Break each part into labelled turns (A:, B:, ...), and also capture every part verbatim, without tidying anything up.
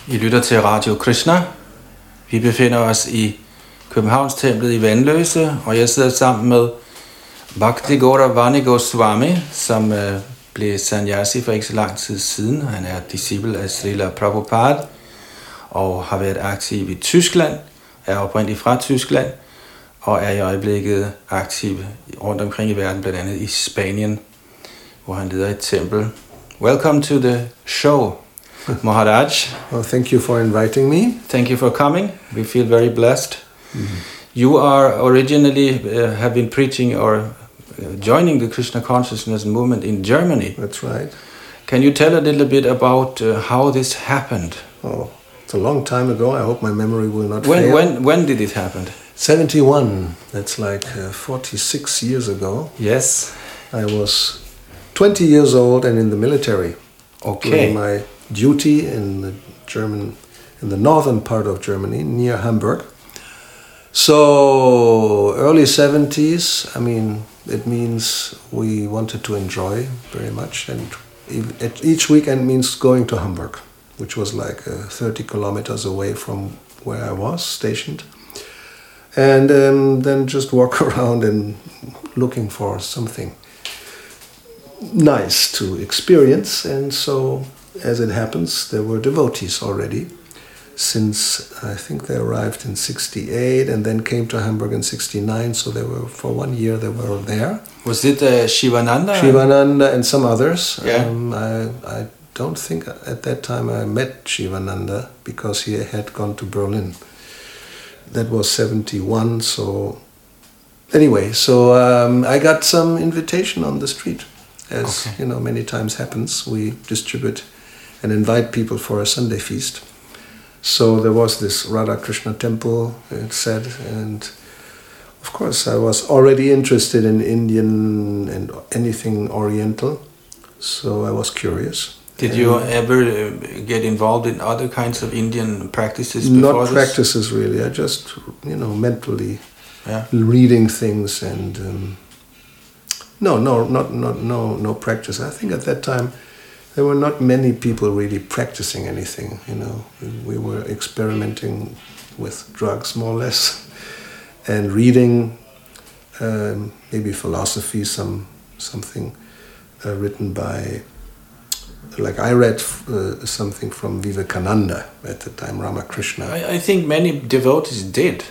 A: I lytter til Radio Krishna. Vi befinder os i Københavnstemplet i Vanløse, og jeg sidder sammen med Bhakti Gauravani Goswami, som øh, blev sannyasi for ikke så lang tid siden. Han er disciple af Srila Prabhupada og har været aktiv i Tyskland, er oprindeligt fra Tyskland, og er i øjeblikket aktiv rundt omkring i verden, blandt andet i Spanien, hvor han leder et tempel. Welcome to the show, Maharaj.
B: Well, thank you for inviting me.
A: Thank you for coming. We feel very blessed.
B: Mm-hmm.
A: You are originally uh, have been preaching or uh, joining the Krishna consciousness movement in Germany.
B: That's right.
A: Can you tell a little bit about uh, how this happened?
B: Oh, it's a long time ago. I hope my memory will not
A: When
B: fail.
A: when when did it happen?
B: seventy-one. That's like uh, forty-six years ago.
A: Yes.
B: I was twenty years old and in the military.
A: Okay.
B: Doing my duty in the German, in the northern part of Germany, near Hamburg. So early seventies. I mean, it means we wanted to enjoy very much, and each weekend means going to Hamburg, which was like uh, thirty kilometers away from where I was stationed, and um, then just walk around and looking for something nice to experience. And so, as it happens, there were devotees already, since I think they arrived in sixty-eight and then came to Hamburg in sixty-nine, so they were, for one year they were there.
A: Was it uh, Shivananda?
B: Shivananda and some others.
A: Yeah.
B: Um, I, I don't think at that time I met Shivananda, because he had gone to Berlin. That was seventy-one, so anyway, so um, I got some invitation on the street, as
A: okay.
B: you know, many times happens. We distribute and invite people for a Sunday feast. So there was this Radha Krishna temple, it said, and of course I was already interested in Indian and anything Oriental, so I was curious.
A: Did you ever uh, get involved in other kinds of Indian practices
B: Not
A: before this?
B: practices really, I just, you know, mentally
A: yeah.
B: reading things and um, no, no, not, not, no, no practice. I think at that time there were not many people really practicing anything, you know. We were experimenting with drugs, more or less, and reading um, maybe philosophy, some something uh, written by, like I read uh, something from Vivekananda at the time, Ramakrishna.
A: I, I think many devotees did.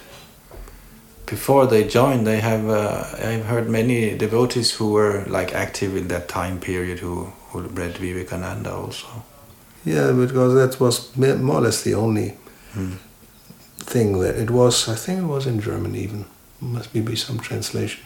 A: Before they joined, they have. Uh, I've heard many devotees who were like active in that time period who. who read Vivekananda also.
B: Yeah, because that was more or less the only hmm. thing that it was. I think it was in German even. Must be some translation.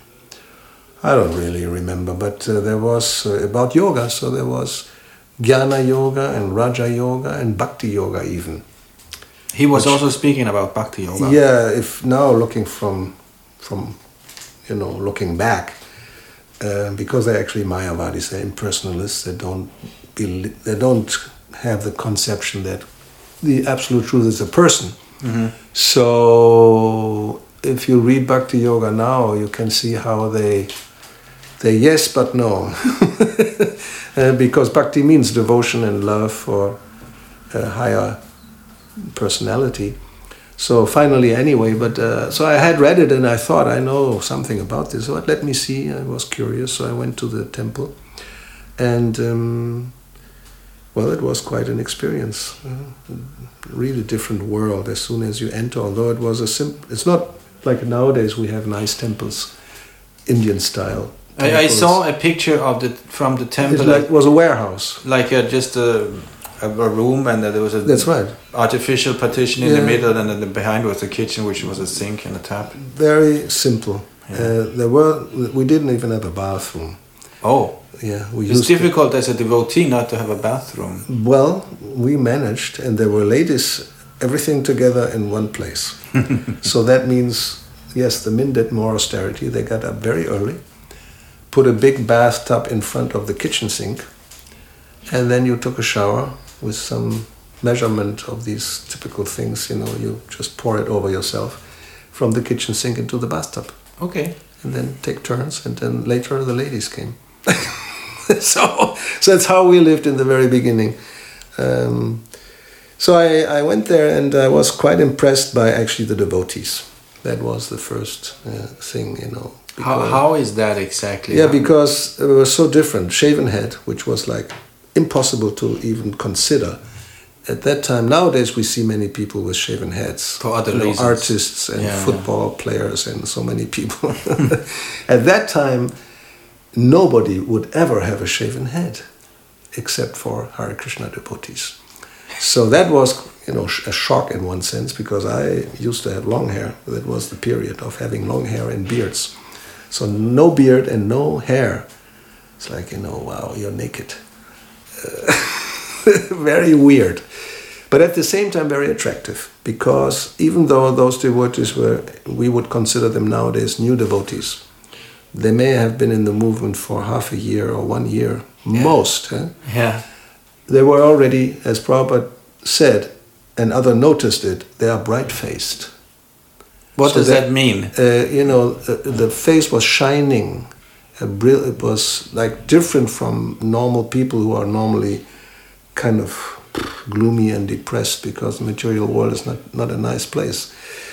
B: I don't really remember, but uh, there was uh, about yoga. So there was Jnana Yoga and Raja Yoga and Bhakti Yoga even.
A: He was
B: Which,
A: also speaking about Bhakti Yoga.
B: Yeah, if now looking from, from, you know, looking back. Uh, because they're actually Mayavadis, they're impersonalists. They don't believe, they don't have the conception that the absolute truth is a person.
A: Mm-hmm.
B: So if you read Bhakti Yoga now, you can see how they they yes but no, uh, because Bhakti means devotion and love for a higher personality. So finally, anyway, but uh, so I had read it and I thought I know something about this. So let me see. I was curious, so I went to the temple, and um, well, it was quite an experience. Uh, really different world as soon as you enter. Although it was a simple, it's not like nowadays we have nice temples, Indian style.
A: I, I saw a picture of the from the temple.
B: It like, was a warehouse,
A: like a, just a. a room, and there was a
B: That's right.
A: artificial partition in
B: yeah.
A: the middle, and then behind was the kitchen, which was a sink and a tap.
B: Very simple.
A: Yeah.
B: Uh, there were we didn't even have a bathroom.
A: Oh,
B: yeah. We
A: it's
B: used
A: difficult
B: to,
A: as a devotee not to have a bathroom.
B: Well, we managed, and there were ladies, everything together in one place. So that means, yes, the men did more austerity. They got up very early, put a big bathtub in front of the kitchen sink, and then you took a shower with some measurement of these typical things, you know, you just pour it over yourself from the kitchen sink into the bathtub.
A: Okay.
B: And then take turns, and then later the ladies came. so, so that's how we lived in the very beginning. Um, So I, I went there and I was quite impressed by actually the devotees. That was the first uh, thing, you know.
A: How, how is that exactly?
B: Yeah, because it was so different. Shaven head, which was like impossible to even consider. At that time, nowadays we see many people with shaven heads.
A: For other
B: you know,
A: reasons.
B: artists and
A: yeah,
B: football yeah. players and so many people. At that time, nobody would ever have a shaven head except for Hare Krishna devotees. So that was, you know, a shock in one sense, because I used to have long hair. That was the period of having long hair and beards. So no beard and no hair. It's like, you know, wow, you're naked. Uh, very weird. But at the same time, very attractive. Because even though those devotees were, we would consider them nowadays new devotees, they may have been in the movement for half a year or one year, yeah. most. Huh?
A: Yeah.
B: They were already, as Prabhupada said, and others noticed it, they are bright-faced.
A: What
B: so
A: does
B: that,
A: that mean?
B: Uh, you know, uh, the face was shining. Brill- it was like different from normal people who are normally kind of gloomy and depressed, because the material world is not, not a nice place.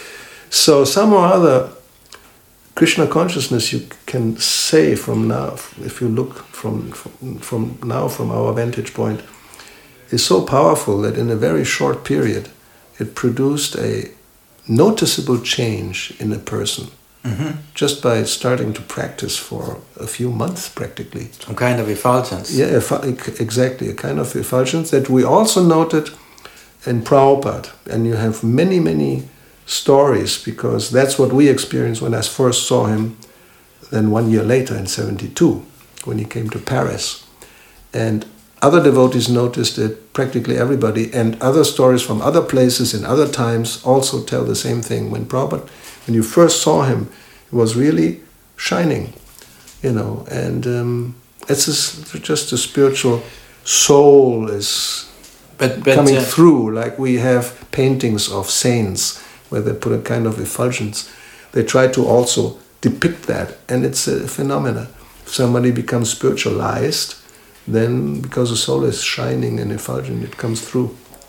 B: So some or other, Krishna consciousness, you can say from now, if you look from, from, from now from our vantage point, is so powerful that in a very short period it produced a noticeable change in a person, mm-hmm. just by starting to practice for a few months practically.
A: Some kind of effulgence.
B: Yeah, exactly, a kind of effulgence that we also noted in Prabhupada. And you have many, many stories, because that's what we experienced when I first saw him, then one year later in seventy-two, when he came to Paris. And other devotees noticed it, practically everybody, and other stories from other places in other times also tell the same thing. When Prabhupada, when you first saw him, he was really shining, you know, and um, it's just, just a spiritual soul is
A: but, but,
B: coming
A: uh,
B: through, like we have paintings of saints where they put a kind of effulgence. They try to also depict that, and it's a phenomenon. If somebody becomes spiritualized, then because the soul is shining and effulgent, it comes through.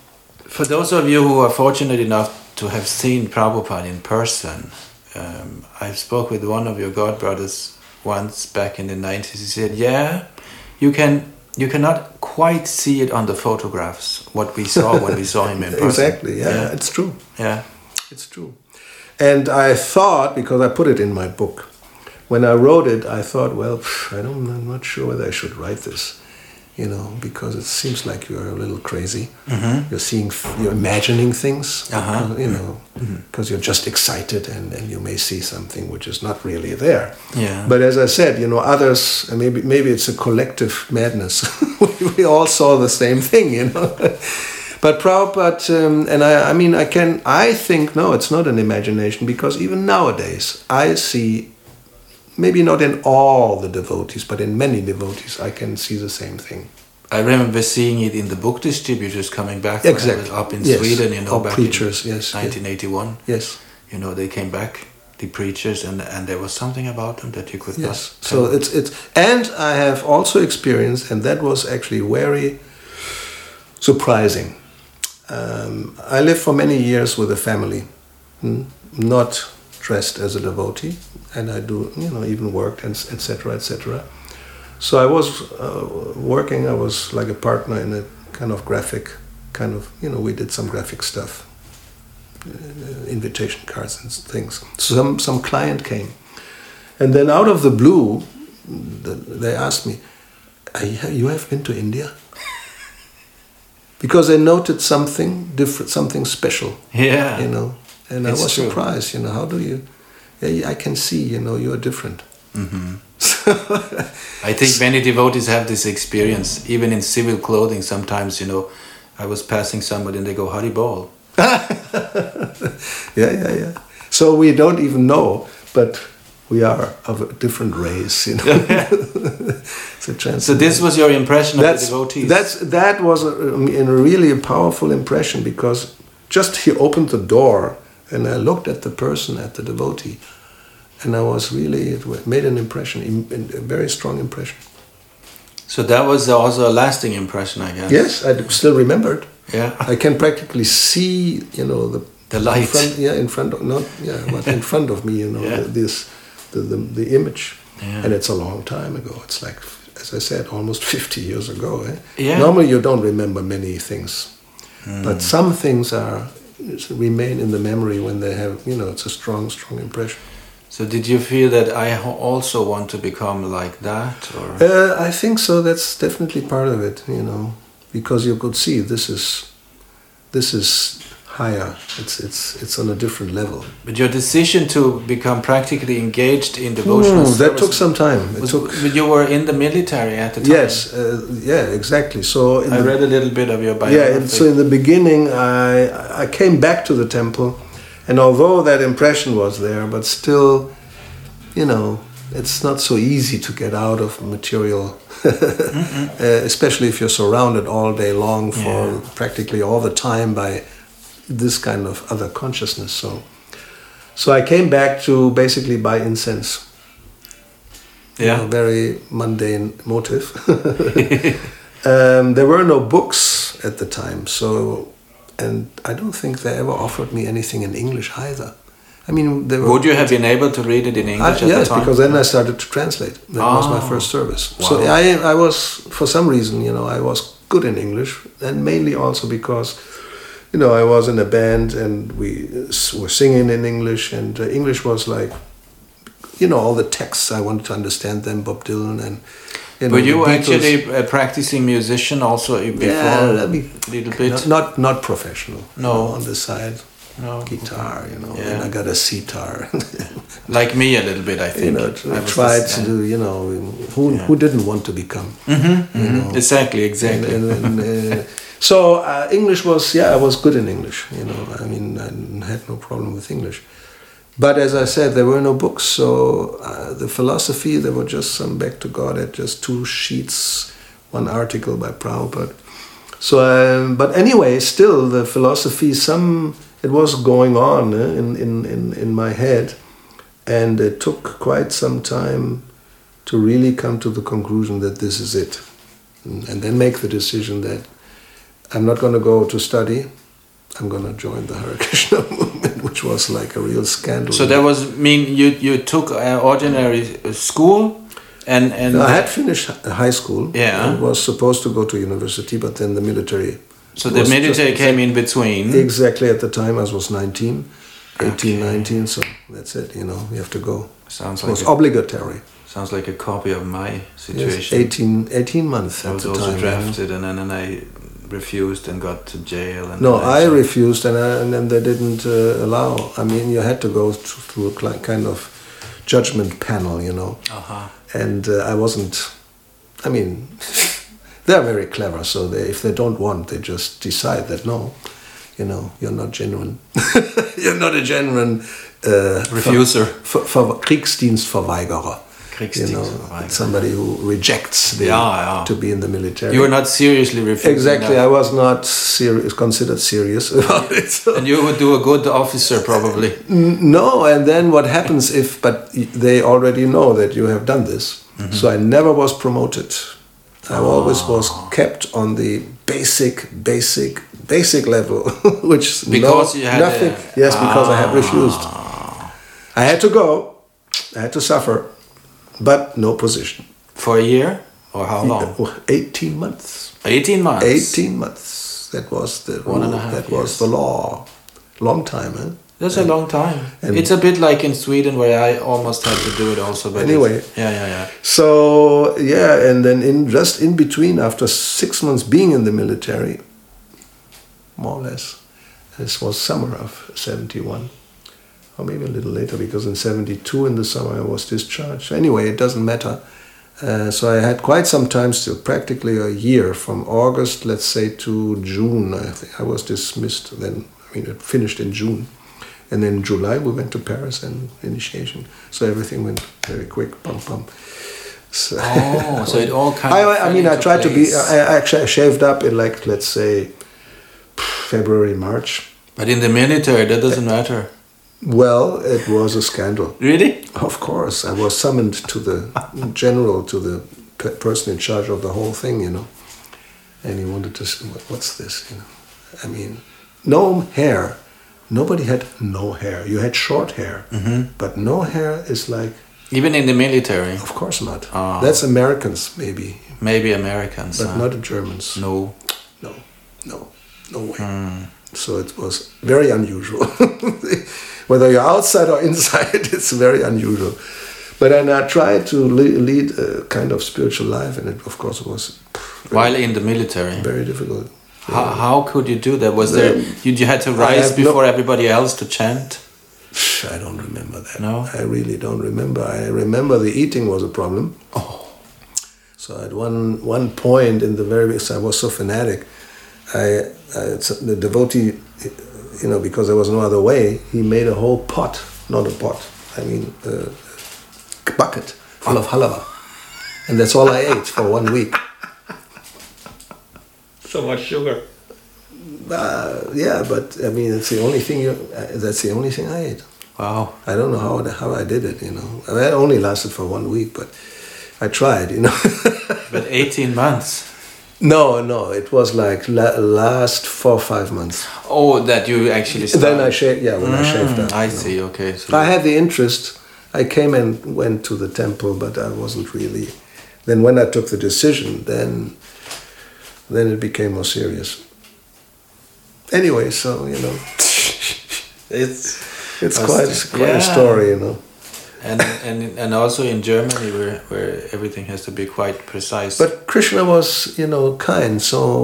A: For those of you who are fortunate enough to have seen Prabhupada in person, um, I spoke with one of your godbrothers once back in the nineties. He said, yeah, you can you cannot quite see it on the photographs, what we saw when we saw him in person.
B: Exactly, yeah,
A: yeah,
B: it's true.
A: Yeah,
B: it's true. And I thought, because I put it in my book, when I wrote it, I thought, well, pff, I don't, I'm not sure whether I should write this. You know, because it seems like you're a little crazy. Mm-hmm. You're seeing, you're imagining things, uh-huh. because, you know, because mm-hmm. you're just excited, and, and you may see something which is not really there.
A: Yeah.
B: But as I said, you know, others, maybe maybe it's a collective madness. We all saw the same thing, you know. But Prabhupada, um, and I, I mean, I can, I think, no, it's not an imagination, because even nowadays I see, maybe not in all the devotees, but in many devotees, I can see the same thing.
A: I remember seeing it in the book distributors coming back
B: exactly.
A: up in
B: yes.
A: Sweden, you know,
B: or
A: back
B: preachers,
A: in
B: yes.
A: nineteen eighty-one.
B: Yes.
A: You know, they came back, the preachers, and and there was something about them that you could
B: yes.
A: not
B: So
A: tell.
B: it's it's and I have also experienced, and that was actually very surprising. Um, I lived for many years with a family, hmm? not dressed as a devotee, and I do, you know, even worked, and et cetera, et cetera. So I was uh, working. I was like a partner in a kind of graphic, kind of, you know, we did some graphic stuff, uh, invitation cards and things. Some some client came, and then out of the blue, the, they asked me, "You have been to India?" Because they noted something different, something special.
A: Yeah,
B: you know. And
A: it's
B: I was
A: true.
B: surprised, you know, how do you, yeah, I can see, you know, you're different.
A: Mm-hmm. I think many devotees have this experience, even in civil clothing. Sometimes, you know, I was passing somebody and they go, Hari Bol.
B: yeah, yeah, yeah. So we don't even know, but we are of a different race, you know. It's a
A: so this was your impression of
B: that's,
A: the devotees?
B: That's, that was a, a really a powerful impression, because just he opened the door, and I looked at the person, at the devotee, and I was really, it made an impression, a very strong impression.
A: So that was also a lasting impression, I guess.
B: Yes, I still remembered.
A: Yeah.
B: I can practically see, you know, the
A: The light.
B: In front, yeah, in front of not yeah, but in front of me, you know,
A: Yeah.
B: the, this the, the the image,
A: Yeah.
B: and it's a long time ago. It's like, as I said, almost fifty years ago. Eh?
A: Yeah.
B: Normally, you don't remember many things,
A: Mm.
B: but some things are remain in the memory when they have, you know, it's a strong, strong impression.
A: So did you feel that I ho- also want to become like that, or?
B: Uh, I think so. That's definitely part of it, you know, because you could see this is this is higher. It's it's it's on a different level.
A: But your decision to become practically engaged in devotional
B: Mm, that
A: service
B: took some time. It
A: was,
B: took.
A: but you were in the military at the time.
B: Yes, uh, yeah, exactly. So in
A: I
B: the,
A: read a little bit of your biography.
B: yeah, and so in the beginning, I I came back to the temple, and although that impression was there, but still, you know, it's not so easy to get out of material, uh, especially if you're surrounded all day long for
A: Yeah.
B: practically all the time by this kind of other consciousness. So, so I came back to basically buy incense.
A: Yeah.
B: A very mundane motive. um, there were no books at the time, so, and I don't think they ever offered me anything in English either. I mean, they were,
A: Would you have been able to read it in English
B: I,
A: at
B: yes,
A: the time?
B: because then I started to translate. That was my
A: Ah.
B: first service.
A: Wow.
B: So I, I was, for some reason, you know, I was good in English, and mainly also because, you know, I was in a band and we were singing in English, and uh, English was like, you know, all the texts, I wanted to understand them, Bob Dylan and, you know,
A: Were you
B: the Beatles.
A: actually a practicing musician also before?
B: Yeah, I mean,
A: a little bit?
B: Not, not, not professional.
A: No.
B: You know, on the side.
A: No.
B: Guitar, you know,
A: Yeah.
B: and I got a sitar.
A: Like me a little bit, I think.
B: You know,
A: I
B: I
A: was
B: tried
A: just-
B: to
A: yeah.
B: do, you know, who
A: Yeah.
B: who didn't want to become?
A: Mhm,
B: you
A: mhm.
B: know.
A: Exactly, exactly.
B: And, and, and, uh, so uh, English was, yeah, I was good in English. You know, I mean, I had no problem with English. But as I said, there were no books. So uh, the philosophy, there were just some Back to God at just two sheets, one article by Prabhupada. So, um, but anyway, still the philosophy, some it was going on eh, in, in, in, in my head, and it took quite some time to really come to the conclusion that this is it, and, and then make the decision that I'm not going to go to study. I'm going to join the Hare Krishna movement, which was like a real scandal.
A: So that was mean you you took an ordinary school, and and
B: I had finished high school.
A: Yeah.
B: and was supposed to go to university, but then the military.
A: so the
B: was
A: military
B: just-
A: came in between.
B: Exactly at the time I was nineteen, eighteen,
A: Okay.
B: nineteen, so that's it, you know, you have to go.
A: Sounds
B: It was
A: like a,
B: obligatory.
A: sounds like a copy of my
B: Yes,
A: situation.
B: eighteen, eighteen months
A: I
B: at
A: was
B: the
A: also
B: time. you know.
A: drafted, and then and I refused and got to jail. And
B: No,
A: then
B: I
A: joined.
B: refused, and, I, and then they didn't uh, allow. I mean, you had to go through, through a cli- kind of judgment panel, you know.
A: Uh-huh.
B: And uh, I wasn't. I mean, they're very clever, so they, if they don't want, they just decide that no, you know, you're not genuine. You're not a genuine uh,
A: Refuser.
B: For, for, Kriegsdienstverweigerer. You know,
A: Kriegsdienstverweigerer.
B: somebody who rejects the,
A: Yeah, yeah.
B: to be in the military.
A: You were not seriously refusing.
B: Exactly,
A: that.
B: I was not serious, considered serious about it. so-
A: And you would do a good officer, probably.
B: No, and then what happens if, but they already know that you have done this.
A: Mm-hmm.
B: So I never was promoted. I always was
A: Ah.
B: kept on the basic, basic, basic level, which
A: Because
B: no,
A: you had
B: nothing.
A: a-
B: yes, because I had
A: Ah.
B: refused. I had to go. I had to suffer, but no position.
A: For a year? Or how long?
B: Oh, eighteen months.
A: eighteen months.
B: Eighteen months. That was the
A: One and a
B: rule.
A: half
B: That
A: years.
B: was the law. Long time, eh?
A: That's a long time.
B: and-
A: It's a bit like in Sweden, where I almost had to do it also. But
B: Anyway.
A: it's- yeah, yeah, yeah.
B: So yeah, and then in just in between, after six months being in the military, more or less, this was summer of seventy-one, or maybe a little later, because in seventy-two in the summer I was discharged. Anyway, it doesn't matter. Uh, so I had quite some time still, practically a year, from August, let's say, to June. I think I was dismissed then. I mean, it finished in June. And then in July we went to Paris and initiation. So everything went very quick, bum bum. So,
A: Oh, so it all kind
B: I,
A: of.
B: I
A: fell
B: mean, I
A: into
B: tried to be.
A: place.
B: I actually shaved up in like, let's say, February, March.
A: But in the military, that doesn't matter.
B: Well, it was a scandal.
A: Really?
B: Of course, I was summoned to the general, to the pe- person in charge of the whole thing, you know. And he wanted to say, "What- what's this, you know? I mean, no hair. Nobody had no hair. You had short hair,
A: Mm-hmm.
B: but no hair is like.
A: Even in the military?
B: Of course not.
A: Oh.
B: That's Americans, maybe.
A: Maybe Americans.
B: But
A: huh?
B: not the Germans.
A: No.
B: No, no, no way.
A: Mm.
B: So it was very unusual. Whether you're outside or inside, it's very unusual. But then I tried to le- lead a kind of spiritual life, and it, of course, was very,
A: While in the military?
B: very difficult.
A: How, how could you do that? Was there you, you had to rise
B: have
A: before
B: no-
A: everybody else to chant?
B: I don't remember that.
A: No?
B: I really don't remember. I remember the eating was a problem.
A: Oh.
B: So at one one point in the very, so I was so fanatic. I, I the devotee, you know, because there was no other way, he made a whole pot, not a pot. I mean, a bucket full of halava, and that's all I ate for one week.
A: So much sugar.
B: Uh, yeah, but I mean, it's the only thing you. Uh, that's the only thing I ate.
A: Wow.
B: I don't know how how I did it. You know, I mean, it only lasted for one week, but I tried. You know.
A: But eighteen months.
B: No, no, it was like la- last four or five months.
A: Oh, that you actually started.
B: Then I shaved. Yeah, when
A: Mm,
B: I shaved up.
A: I
B: you know.
A: see. Okay. So
B: I had the interest. I came and went to the temple, but I wasn't really. Then when I took the decision, then then it became more serious. Anyway, so you know,
A: it's
B: it's
A: was-
B: quite it's quite
A: yeah.
B: a story, you know.
A: and and and also in Germany where where everything has to be quite precise.
B: But Krishna was, you know, kind. So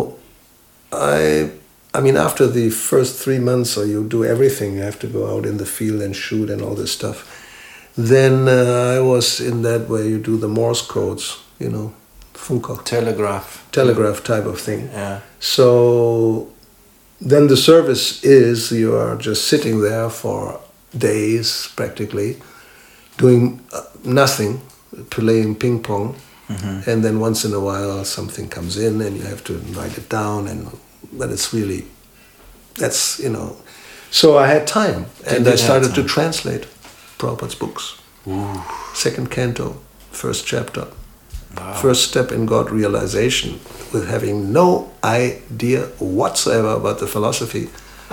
B: I, I mean, after the first three months, so you do everything. You have to go out in the field and shoot and all this stuff. Then uh, I was in that where you do the Morse codes, you know, Funko.
A: Telegraph.
B: Telegraph type of thing.
A: Yeah.
B: So then the service is you are just sitting there for days practically, doing uh, nothing, playing ping pong,
A: Mm-hmm.
B: and then once in a while something comes in and you have to write it down, and but it's really, that's, you know. So I had time, and
A: did
B: I started
A: have
B: to
A: time.
B: translate Prabhupada's books.
A: Ooh.
B: Second canto, first chapter.
A: Wow.
B: First step in God realization, with having no idea whatsoever about the philosophy,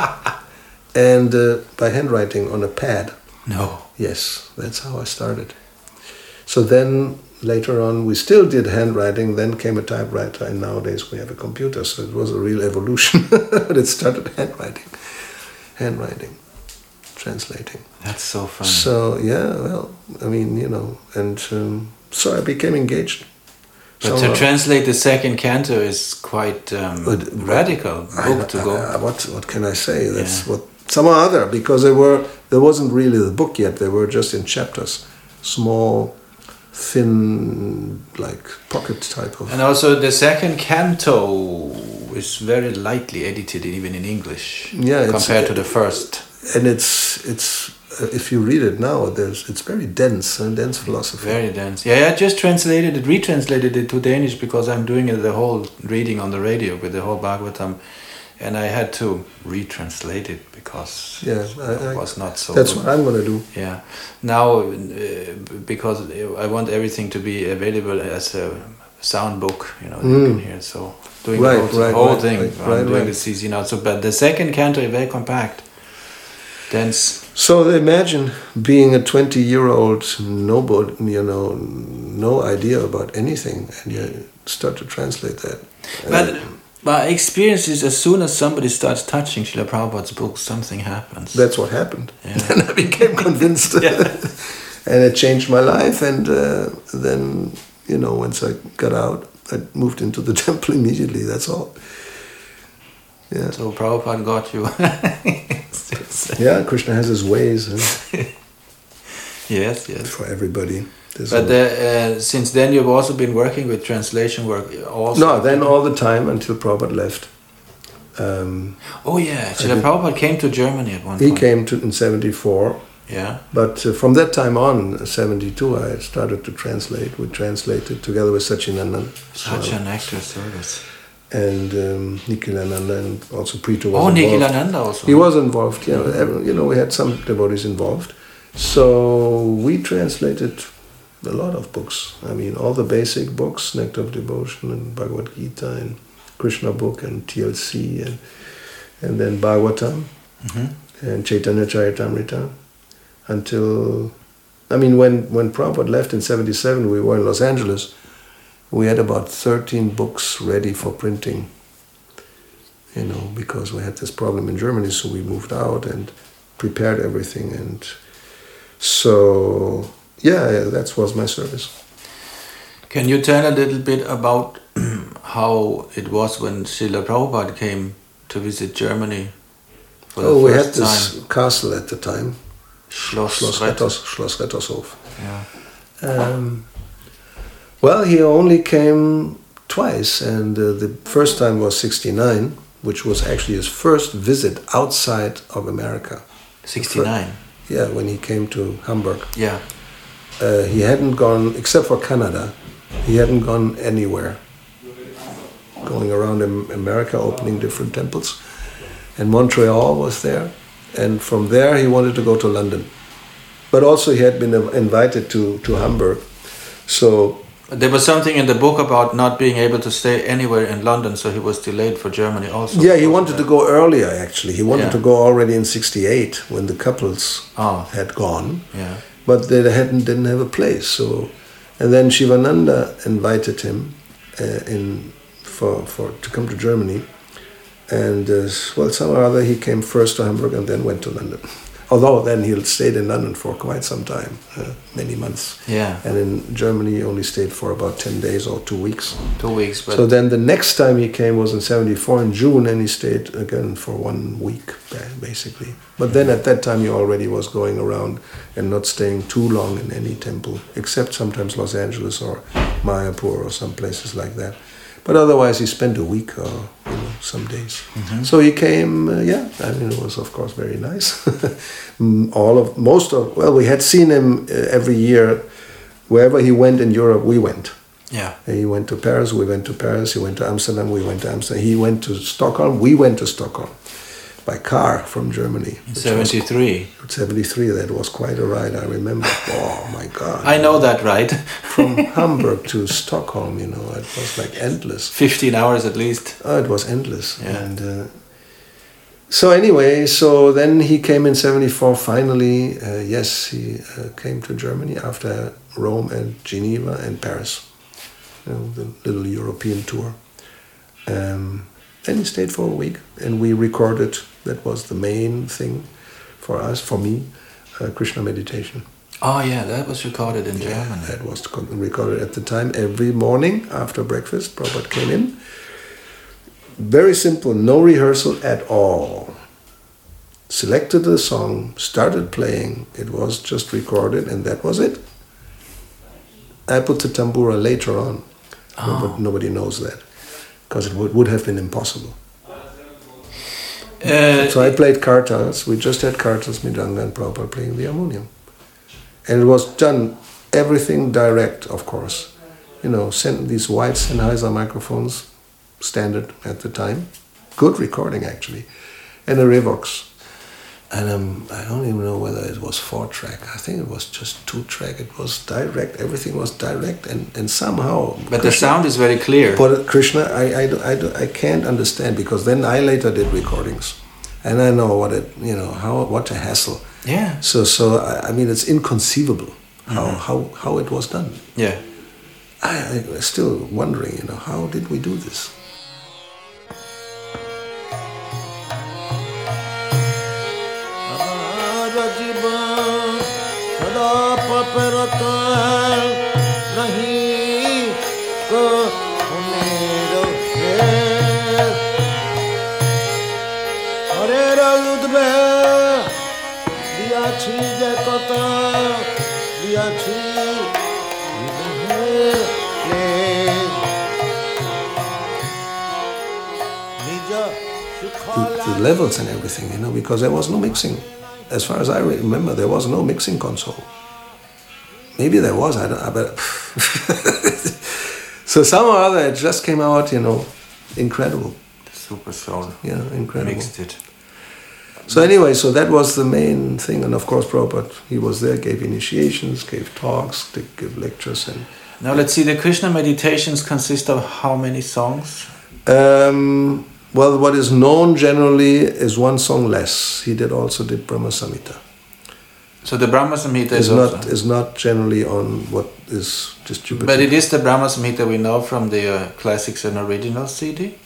B: and uh, by handwriting on a pad.
A: No.
B: Yes, that's how I started. So then later on we still did handwriting, then came a typewriter, and nowadays we have a computer, so it was a real evolution. But it started handwriting, handwriting, translating.
A: That's so funny.
B: So yeah, well, I mean, you know, and um, so I became engaged.
A: But to
B: somehow.
A: translate the second canto is quite um,
B: But-
A: radical
B: I-
A: book to
B: I-
A: go.
B: I- what what can I say? That's
A: Yeah.
B: what somehow other, because they were there wasn't really the book yet. They were just in chapters, small, thin, like pocket type of.
A: And also the second canto is very lightly edited, even in English,
B: Yeah, it's-
A: compared to the first.
B: And it's it's uh, if you read it now, there's it's very dense and dense philosophy.
A: Very dense. Yeah, I just translated it, retranslated it to Danish because I'm doing it, the whole reading on the radio with the whole Bhagavatam, and I had to retranslate it because
B: Yeah, I- I-
A: it was not so
B: That's
A: good.
B: what I'm gonna do.
A: Yeah. Now, uh, because I want everything to be available as a sound book, you know, you
B: Mm.
A: can hear. So doing
B: Right,
A: the whole,
B: right,
A: whole
B: right,
A: thing,
B: right,
A: I'm
B: right,
A: doing
B: right.
A: the C C now. So, but the second canto is very compact, dense.
B: So imagine being a twenty-year-old nobody, you know, no idea about anything, and you start to translate that.
A: But
B: And
A: my experience is, as soon as somebody starts touching Srila Prabhupada's books, something happens.
B: that's what happened.
A: Yeah.
B: And I became convinced,
A: Yeah.
B: and it changed my life. And uh, then, you know, once I got out, I moved into the temple immediately. That's all. Yeah.
A: So Prabhupada got you.
B: Yeah, Krishna has his ways, and
A: Yes, yes.
B: for everybody. There's
A: But
B: a-
A: the, uh, since then, you've also been working with translation work. Also.
B: no, then all the time until Prabhupada left. Um,
A: Oh yeah, Srila
B: did-
A: Prabhupada came to Germany at one
B: he
A: point.
B: came to in seventy-four,
A: Yeah.
B: but uh, from that time on, seventy-two, I started to translate. We translated together with Sachinandan.
A: Such
B: uh,
A: an active service.
B: and um, Nikhilananda, and also Preetu was
A: Oh,
B: involved.
A: Nikhilananda also.
B: He was involved, you know, every- you know, we had some devotees involved. So we translated a lot of books. I mean, all the basic books, Nectar of Devotion and Bhagavad Gita and Krishna book and T L C and and then Bhagavatam,
A: Mm-hmm.
B: and Chaitanya Charitamrita, until, I mean, when, when Prabhupada left in seventy-seven, we were in Los Angeles, we had about thirteen books ready for printing, you know, because we had this problem in Germany, so we moved out and prepared everything, and so, yeah, that was my service.
A: Can you tell a little bit about how it was when Srila Prabhupada came to visit Germany for the
B: oh, we
A: first
B: had this
A: time?
B: castle at the time,
A: Schloss,
B: Schloss,
A: Rett-
B: Rettos, Schloss Rettershof.
A: Yeah.
B: Um, well, he only came twice, and uh, the first time was sixty-nine, which was actually his first visit outside of America.
A: sixty-nine.
B: Yeah, when he came to Hamburg.
A: Yeah.
B: Uh, he hadn't gone, except for Canada, he hadn't gone anywhere. Going around in America, opening different temples. And Montreal was there. And from there he wanted to go to London. But also he had been invited to, to Hamburg. So
A: There was something in the book about not being able to stay anywhere in London, so he was delayed for Germany also.
B: yeah, he wanted to go earlier actually. He wanted
A: Yeah.
B: to go already in sixty-eight when the couples
A: Oh.
B: had gone.
A: Yeah.
B: But they hadn't didn't have a place. So, and then Shivananda invited him uh, in for for to come to Germany, and uh, well, somehow or other he came first to Hamburg and then went to London. Although then he stayed in London for quite some time, uh, many months.
A: Yeah.
B: And in Germany he only stayed for about ten days or two weeks.
A: Two weeks. But
B: So then the next time he came was in seventy-four in June, and he stayed again for one week, basically. But then at that time he already was going around and not staying too long in any temple, except sometimes Los Angeles or Mayapur or some places like that. But otherwise he spent a week or you know, some days.
A: Mhm.
B: So he came, uh, yeah, I mean it was of course very nice. All of, most of, well we had seen him uh, every year, wherever he went in Europe we went.
A: yeah.
B: He went to Paris, we went to Paris, he went to Amsterdam, we went to Amsterdam. He went to Stockholm, we went to Stockholm by car from Germany.
A: In seventy-three.
B: seventy-three, that was quite a ride, I remember. Oh my God.
A: I know that, right?
B: From Hamburg to Stockholm, you know, it was like endless.
A: fifteen hours at least.
B: Oh, it was endless.
A: Yeah.
B: And uh, so anyway, so then he came in seventy-four finally. Uh, yes, he uh, came to Germany after Rome and Geneva and Paris. You know, the little European tour. Um, and he stayed for a week, and we recorded, that was the main thing for us, for me, uh, Krishna meditation.
A: Oh yeah, that was recorded in German.
B: That was recorded at the time. Every morning after breakfast, Prabhupada came in. Very simple, no rehearsal at all. Selected the song, started playing, it was just recorded, and that was it. I put the tambura later on,
A: Oh.
B: but nobody knows that, because it would, would have been impossible.
A: Uh,
B: So I played kartals, we just had kartals, Midanga and Prabhupada playing the harmonium. And it was done, everything direct, of course. You know, sent these white Sennheiser microphones, standard at the time. Good recording, actually. And a Revox. And um, I don't even know whether it was four track. I think it was just two track. It was direct. Everything was direct. And, and somehow...
A: but the sound is very clear.
B: But Krishna, I, I, I, I can't understand, because then I later did recordings. And I know what it, you know, how what a hassle.
A: Yeah.
B: So, so I, I mean, it's inconceivable how,
A: Mhm.
B: how, how it was done.
A: Yeah.
B: I, I'm still wondering, you know, how did we do this? The, the levels and everything, you know, because there was no mixing. As far as I remember, there was no mixing console. Maybe there was, I don't know, but... So somehow or other it just came out, you know, incredible.
A: Super soul.
B: Yeah, incredible.
A: Mixed it.
B: So anyway, so that was the main thing. And of course, Prabhupada, he was there, gave initiations, gave talks, gave lectures. And
A: Now let's see, the Krishna meditations consist of how many songs?
B: um, Well, what is known generally is one song less. He did also did Brahma Samhita.
A: So the Brahma Samhita is,
B: is
A: also...
B: not is not generally on what is distributed.
A: But it is the Brahma Samhita we know from the uh, Classics and Originals C D?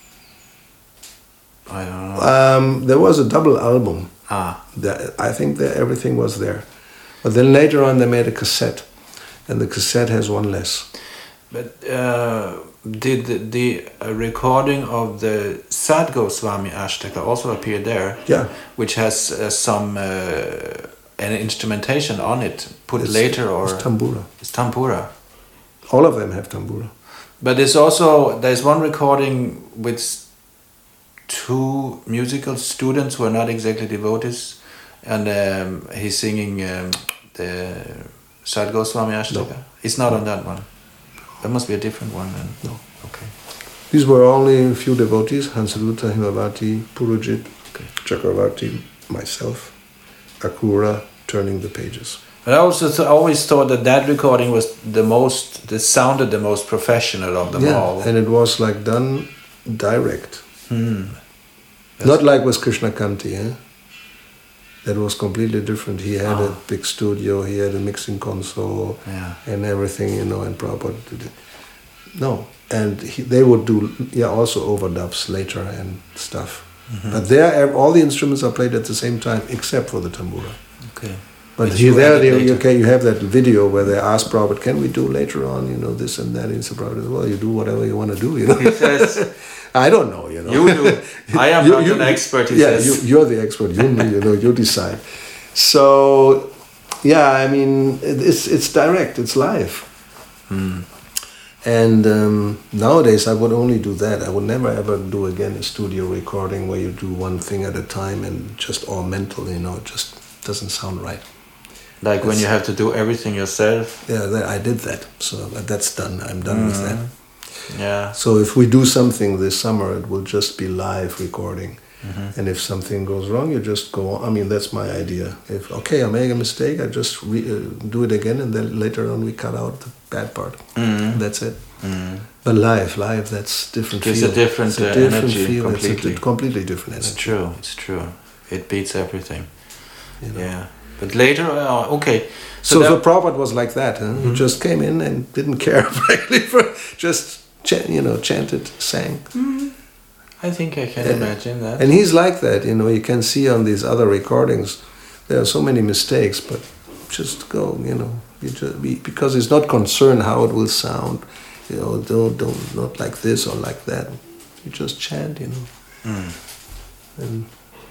A: I don't know.
B: Um, there was a double album.
A: Ah.
B: That, I think that everything was there. But then later on they made a cassette. And the cassette has one less. But
A: uh, did the, the uh, recording of the Sad Goswami Ashtaka also appear there?
B: Yeah.
A: Which has uh, some... Uh, an instrumentation on it put
B: it's,
A: later, or
B: it's tambura.
A: It's tambura.
B: All of them have tambura.
A: But there's also there's one recording with two musical students who are not exactly devotees, and um, he's singing um, the Sad Goswami Ashtaka. No. It's not no. on that one. That must be a different one then.
B: No.
A: Okay.
B: These were only a few devotees: Hansaruta, Himavati, Purujit, okay. Chakravarti, myself. Akura turning the pages.
A: But I also th- always thought that that recording was the most, that sounded the most professional of them
B: yeah,
A: all.
B: And it was like done direct.
A: Hmm.
B: Not like with Krishna Kanti, eh? That was completely different. He had oh. a big studio, he had a mixing console
A: yeah.
B: and everything, you know, and Prabhupada did it. No, and he, they would do, yeah, also overdubs later and stuff. Mm-hmm. But there, all the instruments are played at the same time, except for the tambura.
A: Okay.
B: But Which here, there, they, okay, you have that video where they ask Prabhupada, "Can we do later on, you know, this and that?" And so Prabhupada says, "Well, you do whatever you want to do, you know."
A: He says,
B: "I don't know, you know."
A: You do. I am
B: you,
A: not
B: you,
A: an expert. He
B: yeah,
A: says.
B: You, you're the expert. You, you know, you decide. So, yeah, I mean, it's it's direct. It's live.
A: Hmm.
B: And um, nowadays I would only do that. I would never ever do again a studio recording where you do one thing at a time and just all mental, you know, it just doesn't sound right.
A: Like
B: it's,
A: when you have to do everything yourself?
B: Yeah, that, I did that. So that's done. I'm done mm-hmm. with that.
A: Yeah.
B: So if we do something this summer, it will just be live recording.
A: Mm-hmm.
B: And if something goes wrong, you just go on. I mean, that's my idea. If, okay, I make a mistake, I just re- uh, do it again, and then later on we cut out the bad part.
A: Mm-hmm.
B: That's it.
A: Mm-hmm.
B: But live, live, that's different.
A: It's
B: feel.
A: a different,
B: it's a
A: uh,
B: different
A: energy,
B: feel.
A: completely.
B: It's a completely different energy.
A: It's true, it's true. It beats everything.
B: You know?
A: Yeah. But later, uh, okay.
B: So, so the Prabhupada was like that. Huh? Mm-hmm. He just came in and didn't care, frankly, for just, ch- you know, chanted, sang.
A: Mm-hmm. I think I can
B: and,
A: imagine that.
B: And he's like that, you know, you can see on these other recordings, there are so many mistakes, but just go, you know, you just be, because he's not concerned how it will sound, you know, don't, don't, not like this or like that. You just chant, you know.
A: Mm.
B: And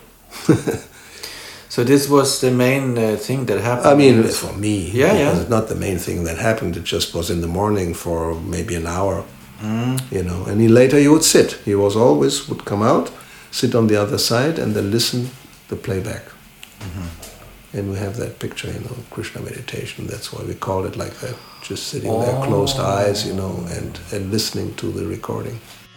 A: so this was the main uh, thing that happened?
B: I mean, for me,
A: yeah, yeah.
B: It's not the main thing that happened, it just was in the morning for maybe an hour.
A: Mm.
B: You know, and he later he would sit. He was always would come out, sit on the other side, and then listen the playback.
A: Mm-hmm.
B: And we have that picture, you know, Krishna meditation. That's why we call it like that. Just sitting
A: oh.
B: there, closed eyes, you know, and, and listening to the recording.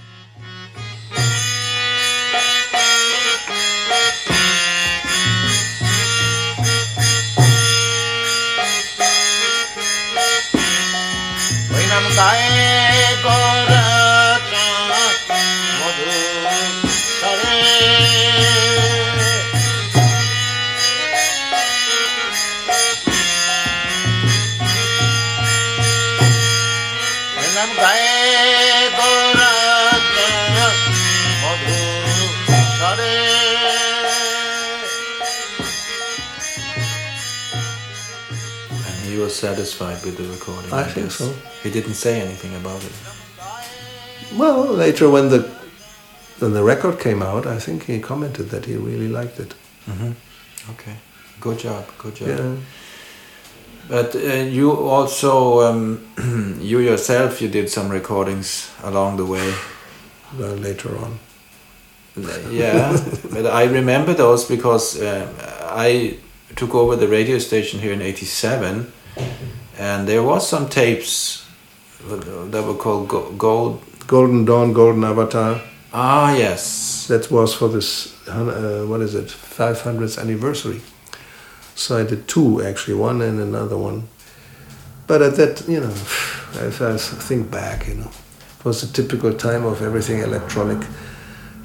A: Satisfied with the recording?
B: I, I think so.
A: He didn't say anything about it.
B: Well, later when the when the record came out, I think he commented that he really liked it.
A: Mm-hmm. Okay, good job, good job.
B: Yeah.
A: But uh, you also, um, you yourself, you did some recordings along the way.
B: Well, later on.
A: Yeah, but I remember those because uh, I took over the radio station here in eighty-seven. And there was some tapes that were called Gold...
B: Golden Dawn, Golden Avatar.
A: Ah, yes.
B: That was for this, uh, what is it, five hundredth anniversary. So I did two, actually, one and another one. But at that, you know, if I think back, you know, it was a typical time of everything electronic.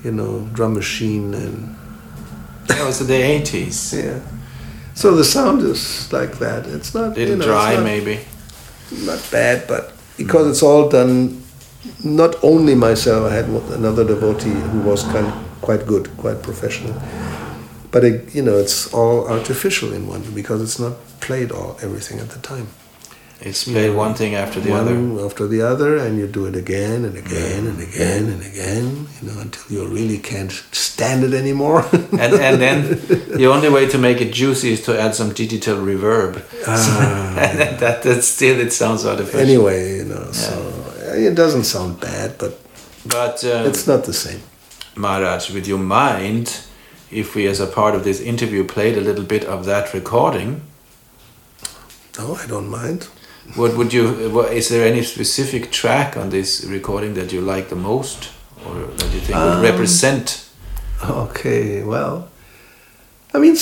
B: you know, drum machine and...
A: That was in the eighties.
B: Yeah. So the sound is like that. It's not...
A: Little
B: you know,
A: dry,
B: not,
A: maybe.
B: Not bad, but because it's all done... Not only myself, I had another devotee who was kind of quite good, quite professional. But, it, you know, it's all artificial in one, because it's not played all everything at the time.
A: It's played you know, one thing after the
B: one
A: other.
B: after the other, and you do it again and again and again and again, you know, until you really can't stand it anymore.
A: and and then the only way to make it juicy is to add some digital reverb.
B: Ah,
A: so, and that, that still it sounds artificial.
B: Anyway, you know,
A: yeah.
B: so it doesn't sound bad, but
A: but um,
B: it's not the same.
A: Maharaj, would you mind if we, as a part of this interview, played a little bit of that recording?
B: No, I don't mind.
A: What would you? Is there any specific track on this recording that you like the most, or that you think um, would represent?
B: Okay, well, I mean,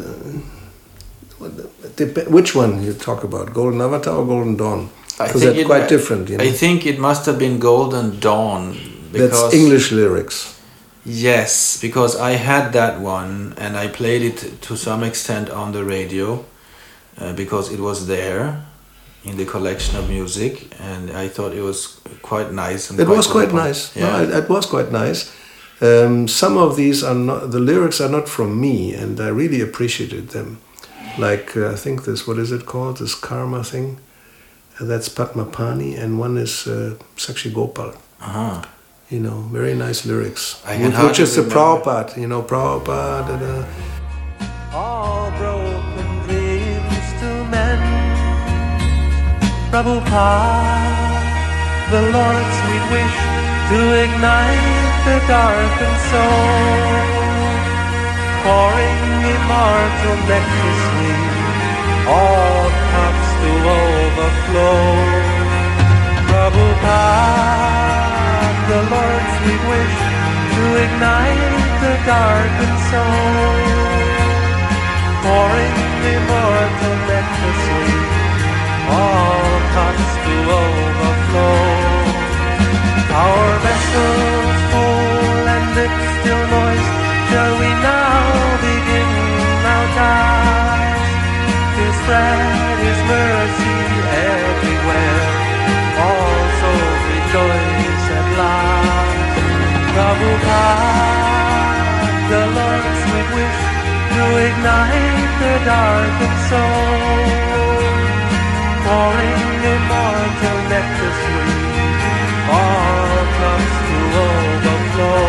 B: uh, which one you talk about? Golden Avatar or Golden Dawn? Because they're quite different. You know?
A: I think it must have been Golden Dawn. Because,
B: that's English lyrics.
A: Yes, because I had that one and I played it to some extent on the radio uh, because it was there in the collection of music, and I thought it was quite nice. And
B: it
A: quite
B: was quite nice.
A: Yeah,
B: no, it, it was quite nice. Um, some of these are not, the lyrics are not from me, and I really appreciated them. Like uh, I think this, what is it called? This Karma thing. Uh, that's Padmapani, and one is uh, Sakshi Gopal.
A: Uh-huh.
B: You know, very nice lyrics.
A: I
B: which, which is the Prabhupada. You know, Prabhupada. Da, da.
C: All broken dreams to mend. Prabhupada, the Lord's sweet wish to ignite the darkened soul, pouring immortal nectar sweet, all cups to overflow. Prabhupada, the Lord's sweet wish to ignite the darkened soul, pouring immortal nectar sweet, all cups to overflow. Our vessels full and lips still moist, shall we now begin our task to spread His mercy everywhere, all souls rejoice at last. Prabhupada, the Lord's sweet wish to ignite the darkened soul, pouring immortal nectar sweet, all comes to overflow.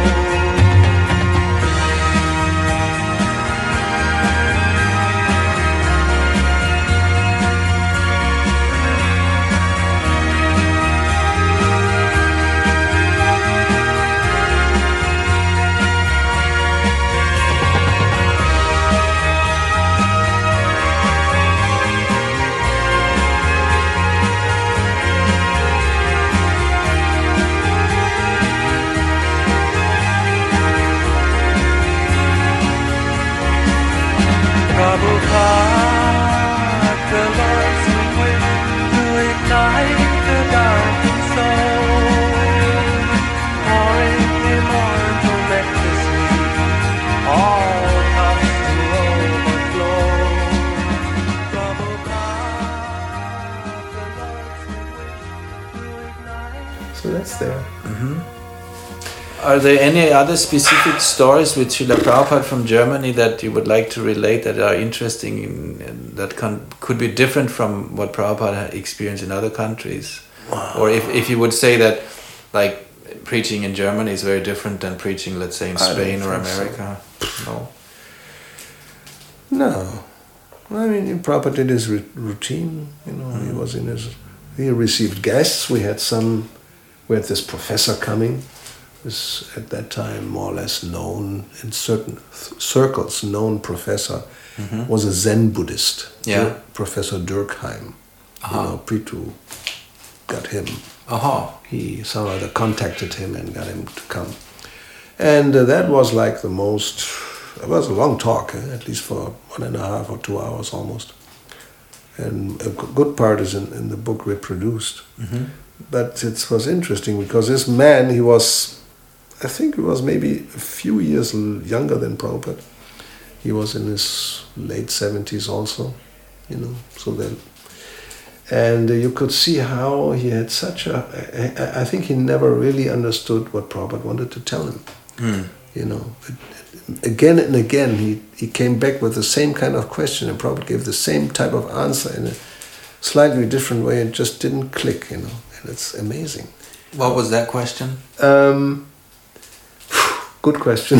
C: Prabhupada, the Lord's sweet wish to ignite the darkened soul, pouring immortal nectar sweet, all comes to overflow. Prabhupada, the Lord's sweet wish to ignite.
B: So that's there.
A: Mm-hmm. Are there any other specific stories with Srila Prabhupada from Germany that you would like to relate that are interesting, in, in, that can, could be different from what Prabhupada experienced in other countries?
B: Wow.
A: Or if, if you would say that, like, preaching in Germany is very different than preaching, let's say, in Spain or America? So.
B: No. No. I mean, Prabhupada did his routine, you know, mm. he was in his... He received guests, we had some... We had this professor coming, was at that time more or less known in certain th- circles, known professor, mm-hmm. was a Zen Buddhist,
A: yeah.
B: Dir- Professor Durkheim. Uh-huh. You know, Prithu got him.
A: Uh-huh.
B: He somehow either contacted him and got him to come. And uh, that was like the most, it was a long talk, eh? At least for one and a half or two hours almost. And a g- good part is in, in the book reproduced.
A: Mm-hmm.
B: But it was interesting because this man, he was I think he was maybe a few years l- younger than Prabhupada. He was in his late seventies also, you know. So then, and uh, you could see how he had such a. I, I think he never really understood what Prabhupada wanted to tell him.
A: Mm.
B: You know, again and again he, he came back with the same kind of question, and Prabhupada gave the same type of answer in a slightly different way, and just didn't click. You know, and it's amazing.
A: What was that question?
B: Um, good question.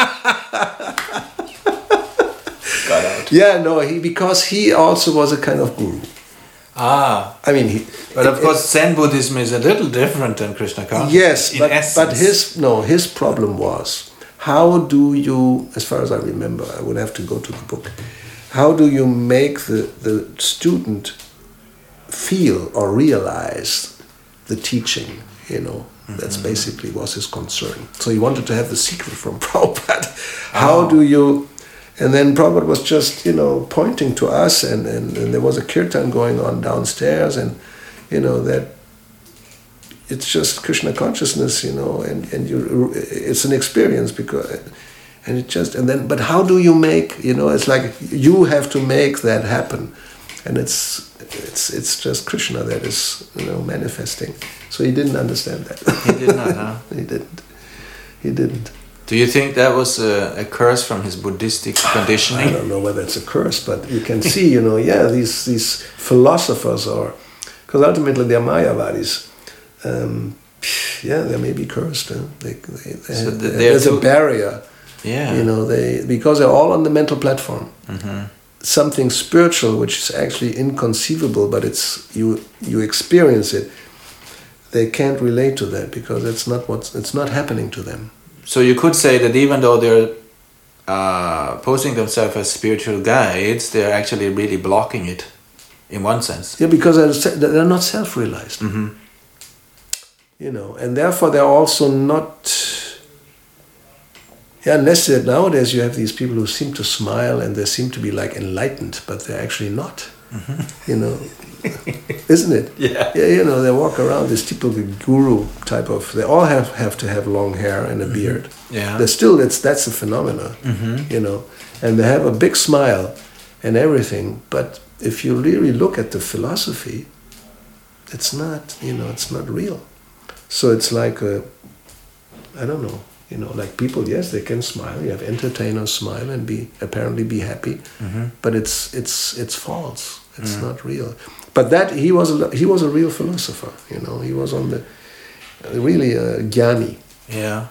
A: Got out.
B: Yeah, no, he because he also was a kind of guru.
A: Ah,
B: I mean, he.
A: but of
B: it-
A: course Zen Buddhism is a little different than Krishna consciousness.
B: Yes,
A: in
B: but
A: essence.
B: but his no his problem was, how do you, as far as I remember, I would have to go to the book. How do you make the the student feel or realize the teaching? You know, that's basically was his concern. So he wanted to have the secret from Prabhupada. How
A: Oh.
B: do you? And then Prabhupada was just, you know, pointing to us, and, and, and there was a kirtan going on downstairs, and, you know, that it's just Krishna consciousness, you know, and, and you, it's an experience because, and it just, and then, but how do you make, you know, it's like you have to make that happen, and it's, it's, it's just Krishna that is, you know, manifesting. So he didn't understand that.
A: He did not, huh?
B: He didn't. He didn't.
A: Do you think that was a, a curse from his Buddhistic
B: I
A: conditioning?
B: don't know whether it's a curse, but you can see, you know, yeah, these these philosophers are, because ultimately they're Mayavadis. Um, yeah, they may be cursed. Huh? They, they, they,
A: So th- they're
B: there's
A: too-
B: a barrier,
A: Yeah.
B: you know, they because they're all on the mental platform.
A: Mhm.
B: Something spiritual, which is actually inconceivable, but it's you you experience it. They can't relate to that because it's not what's it's not happening to them.
A: So you could say that even though they're uh, posing themselves as spiritual guides, they're actually really blocking it, in one sense.
B: Yeah, because they're se- they're not self-realized.
A: Mm-hmm.
B: You know, and therefore they're also not. Yeah, unless that nowadays you have these people who seem to smile and they seem to be like enlightened, but they're actually not. You know, isn't it?
A: Yeah.
B: Yeah, you know, they walk around this typical guru type of. They all have, have to have long hair and a beard.
A: Yeah.
B: They're still, that's that's a phenomenon. You know, and they have a big smile and everything. But if you really look at the philosophy, it's not. You know, it's not real. So it's like a, I don't know. You know, like people, yes, they can smile. You have entertainers smile and be apparently be happy, but it's it's it's false. It's not real. But that he was a, he was a real philosopher. You know, he was on the really a jnani.
A: Yeah.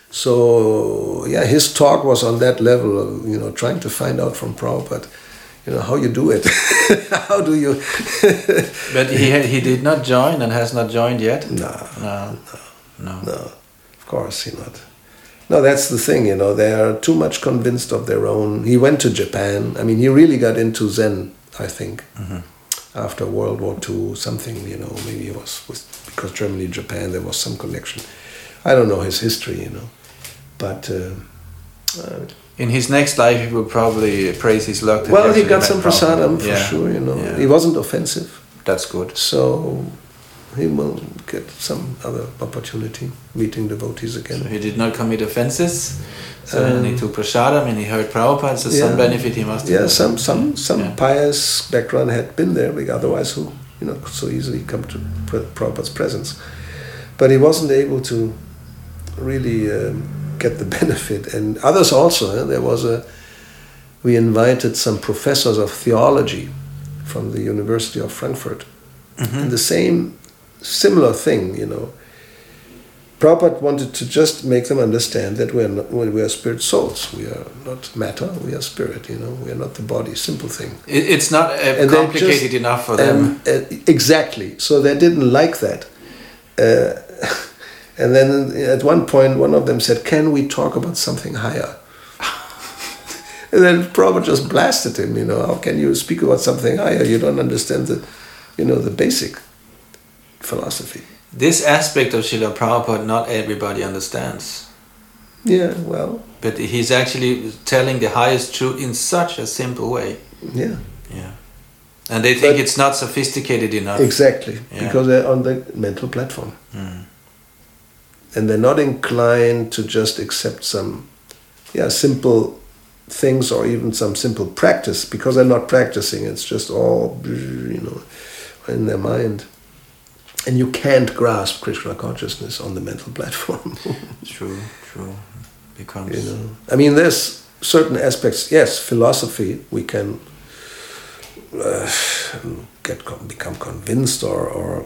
B: So yeah, his talk was on that level of, you know, trying to find out from Prabhupada, you know, how you do it. How do you?
A: But he had, he did not join and has not joined yet?
B: No,
A: No. No.
B: no, of course he not. No, that's the thing, you know, they are too much convinced of their own. He went to Japan. I mean, he really got into Zen, I think, after World War Two, something, you know, maybe it was with, because Germany and Japan, there was some connection. I don't know his history, you know, but... Uh, uh,
A: In his next life, he will probably praise his luck. that
B: well, he
A: actually
B: got
A: met
B: some
A: Prabhupada.
B: prasadam for
A: Yeah.
B: sure, you know.
A: Yeah.
B: He wasn't offensive,
A: That's good.
B: so he will get some other opportunity meeting devotees again.
A: So he did not commit offenses. So
B: Um,
A: then he took prasadam and he heard Prabhupada. So some
B: yeah.
A: benefit he must have.
B: Yeah, some some some
A: Yeah.
B: pious background had been there, because otherwise who, you know, could so easily come to Pra- Prabhupada's presence. But he wasn't able to really um, get the benefit. And others also, eh? There was a, we invited some professors of theology from the University of Frankfurt. And the same, similar thing, you know. Prabhupada wanted to just make them understand that we are not, we are spirit souls. We are not matter, we are spirit, you know. We are not the body, simple thing.
A: It, it's not uh,
B: And they
A: complicated
B: just-
A: enough for them.
B: Um, uh, exactly. So they didn't like that. Uh, and then at one point, one of them said, "Can we talk about something higher?" And then Prabhupada just blasted him, you know, "How can you speak about something higher? You don't understand the, you know, the basic philosophy."
A: This aspect of Srila Prabhupada, not everybody understands.
B: Yeah, well,
A: But he's actually telling the highest truth in such a simple way.
B: yeah,
A: Yeah. And they think
B: But-
A: it's not sophisticated enough.
B: exactly.
A: Yeah.
B: Because they're on the mental platform.
A: Mm.
B: and they're not inclined to just accept some, yeah, simple things or even some simple practice, because they're not practicing. It's just all, you know, in their mind. And you can't grasp Krishna consciousness on the mental platform.
A: True, true. Becomes...
B: You know, I mean, there's certain aspects. Yes, philosophy. We can uh, get become convinced, or, or,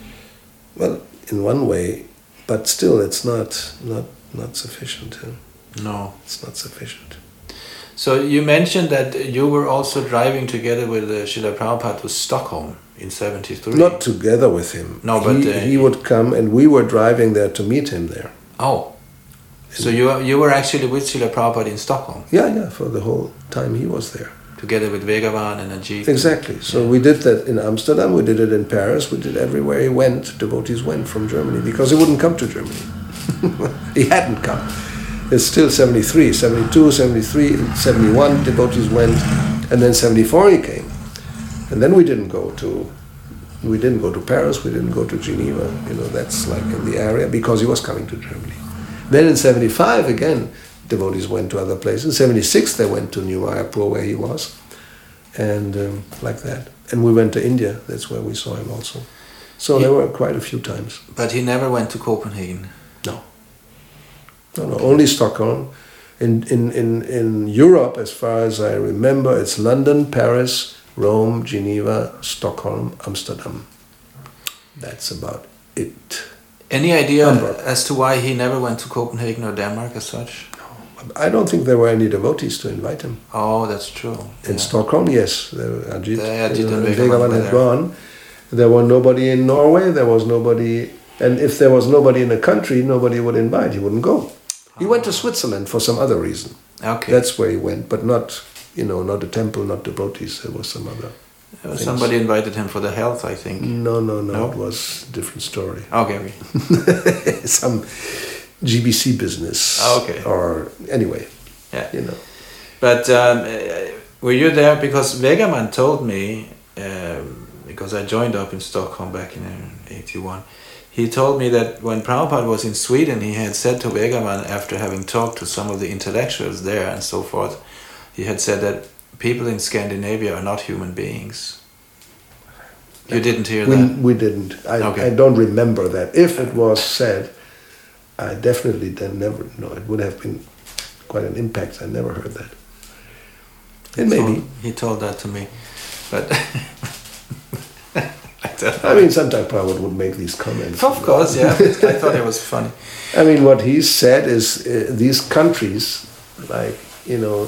B: well, in one way, but still, it's not not not sufficient. Huh?
A: No,
B: it's not sufficient.
A: So you mentioned that you were also driving together with uh, Srila Prabhupada to Stockholm in seventy-three.
B: Not together with him.
A: No, but
B: he,
A: uh,
B: he would come, and we were driving there to meet him there.
A: Oh, so you you were actually with Srila Prabhupada in Stockholm?
B: Yeah, yeah, for the whole time he was there.
A: Together with Vegavan and Ajit.
B: Exactly. So yeah. We did that in Amsterdam, we did it in Paris, we did everywhere he went. Devotees went from Germany, because he wouldn't come to Germany. He hadn't come. It's still seventy-three, seventy-two, seventy-three, seventy-one, devotees went, and then seventy-four he came. And then we didn't go to, we didn't go to Paris, we didn't go to Geneva, you know, that's like in the area, because he was coming to Germany. Then in seventy-five, again, devotees went to other places. In seventy-six, they went to New Mayapur, where he was, and um, like that. And we went to India, that's where we saw him also. So he, there were quite a few times.
A: But he never went to Copenhagen?
B: No. No, no, only Stockholm. In, in, in, in Europe, as far as I remember, it's London, Paris, Rome, Geneva, Stockholm, Amsterdam. That's about it.
A: Any idea
B: Hamburg.
A: As to why he never went to Copenhagen or Denmark as such?
B: I don't think there were any devotees to invite him.
A: Oh, that's true.
B: In
A: yeah.
B: Stockholm, yes. There were Ajit,
A: the Ajit
B: and
A: and
B: Vegavan had gone. There were nobody in Norway, there was nobody... And if there was nobody in the country, nobody would invite. He wouldn't go. He went to Switzerland for some other reason.
A: Okay.
B: That's where he went, but not, you know, not a temple, not devotees. There was some other.
A: Uh, somebody invited him for the health, I think.
B: No, no, no.
A: No?
B: It was a different story.
A: Okay.
B: Some G B C business.
A: Okay.
B: Or anyway.
A: Yeah.
B: You know.
A: But um, were you there? Because Vegaman told me, um, because I joined up in Stockholm back in eighty-one. He told me that when Prabhupada was in Sweden, he had said to Vegaman, after having talked to some of the intellectuals there and so forth, he had said that people in Scandinavia are not human beings. You didn't hear
B: we,
A: that?
B: We didn't. I,
A: okay.
B: I don't remember that. If it was said, I definitely then never, no, it would have been quite an impact. I never heard that. And
A: he
B: maybe.
A: Told, he told that to me. But...
B: I mean, sometimes Prabhupada would make these comments.
A: Of course, yeah. I thought it was funny.
B: I mean, what he said is uh, these countries, like, you know,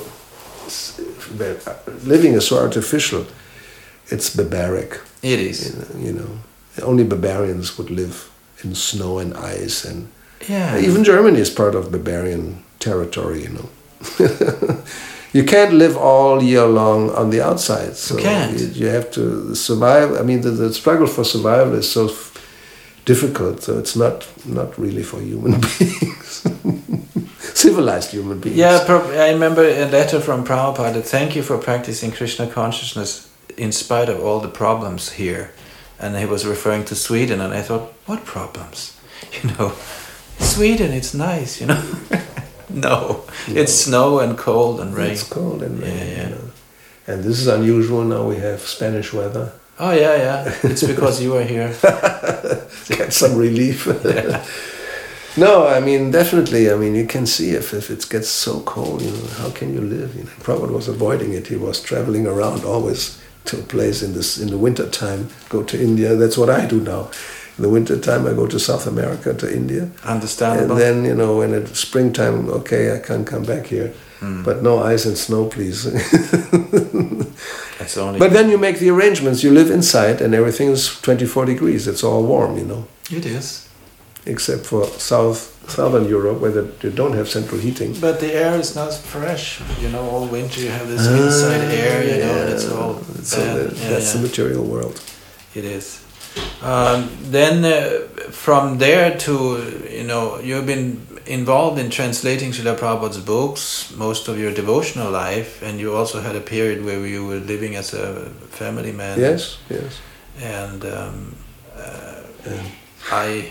B: living is so artificial, it's barbaric.
A: It is.
B: You know, you know, only barbarians would live in snow and ice, and
A: yeah.
B: Even Germany is part of barbarian territory, you know. You can't live all year long on the outside. So
A: you can't.
B: You, you have to survive. I mean, the, the struggle for survival is so f- difficult. So it's not not really for human beings, civilized human beings.
A: Yeah, I remember a letter from Prabhupada. Thank you for practicing Krishna consciousness in spite of all the problems here. And he was referring to Sweden, and I thought, what problems? You know, Sweden, it's nice, you know. No, no, it's snow and cold and rain.
B: It's cold and rain.
A: Yeah, yeah.
B: You know. And this is unusual. Now we have Spanish weather.
A: Oh yeah, yeah. It's because you are here.
B: Get some relief.
A: Yeah.
B: No, I mean definitely. I mean you can see if, if it gets so cold, you know, how can you live? You know, Prabhupada was avoiding it. He was traveling around always to a place in this in the winter time. Go to India. That's what I do now. In the winter time, I go to South America, to India.
A: Understandable.
B: And then, you know, when it's springtime, okay, I can't come back here. Mm. But no ice and snow, please.
A: That's only.
B: But then you make the arrangements. You live inside and everything is twenty-four degrees. It's all warm, you know.
A: It is.
B: Except for South Southern Europe, where the, you don't have central heating.
A: But the air is not fresh. You know, all winter you have this inside uh, air, you know, and it's all
B: so
A: bad.
B: The,
A: Yeah,
B: that's
A: yeah.
B: the material world.
A: It is. Um, then uh, from there to, you know, you've been involved in translating Srila Prabhupada's books, most of your devotional life, and you also had a period where you were living as a family man.
B: Yes, yes.
A: And um, uh,
B: yeah.
A: I